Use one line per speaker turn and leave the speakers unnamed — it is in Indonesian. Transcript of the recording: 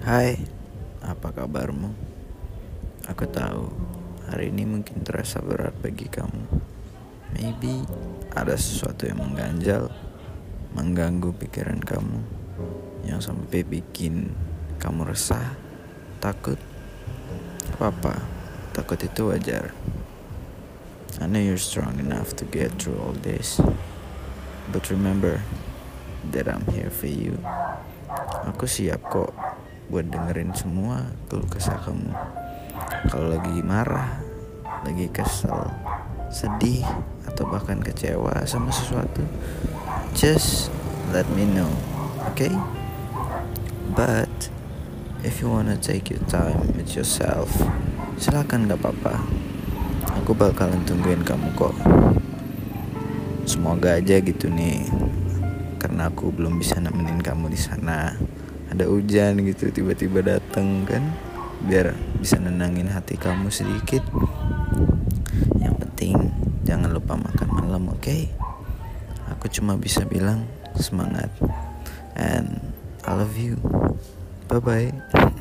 Hai, apa kabarmu? Aku tahu hari ini mungkin terasa berat bagi kamu. Maybe ada sesuatu yang mengganjal, mengganggu pikiran kamu, yang sampai bikin kamu resah, takut. Apa-apa, takut itu wajar. I know you're strong enough to get through all this. But remember that I'm here for you. Aku siap kok buat dengerin semua keluh kesah kamu. Kalau lagi marah, lagi kesel, sedih, atau bahkan kecewa sama sesuatu, just let me know, okay? But if you wanna take your time with yourself, silakan, gak apa-apa. Aku bakalan tungguin kamu kok. Semoga aja gitu nih, karena aku belum bisa nemenin kamu di sana. Ada hujan gitu tiba-tiba dateng kan, biar bisa nenangin hati kamu sedikit. Yang penting jangan lupa makan malam, okay? Aku cuma bisa bilang semangat, and I love you. Bye bye.